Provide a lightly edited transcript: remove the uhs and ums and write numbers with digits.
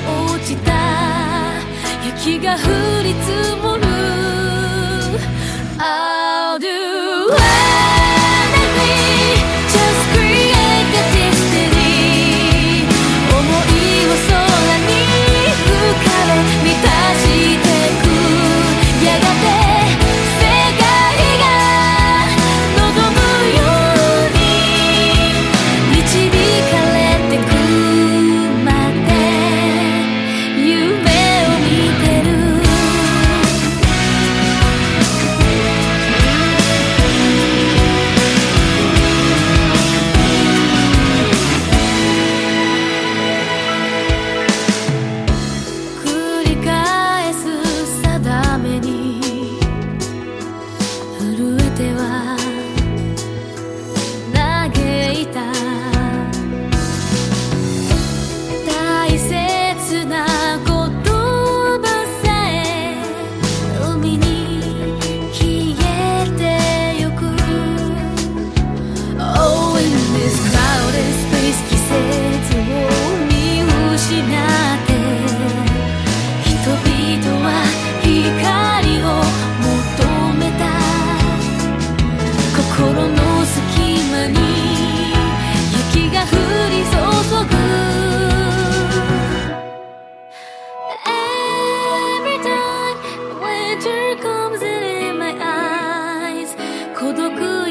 落ちた雪が降り積もる I'll do anything Just create the destiny 想いを空に浮かべ満たしてくやがて世界が望むように導かれてくまで夢を見てる繰り返す定めに震えては嘆いた大切な言葉さえ海に消えてゆく Oh in this crowded space 季節を見失って人々は光を求めた心の隙間に雪が降り注ぐ Every time winter comes in my eyes 孤独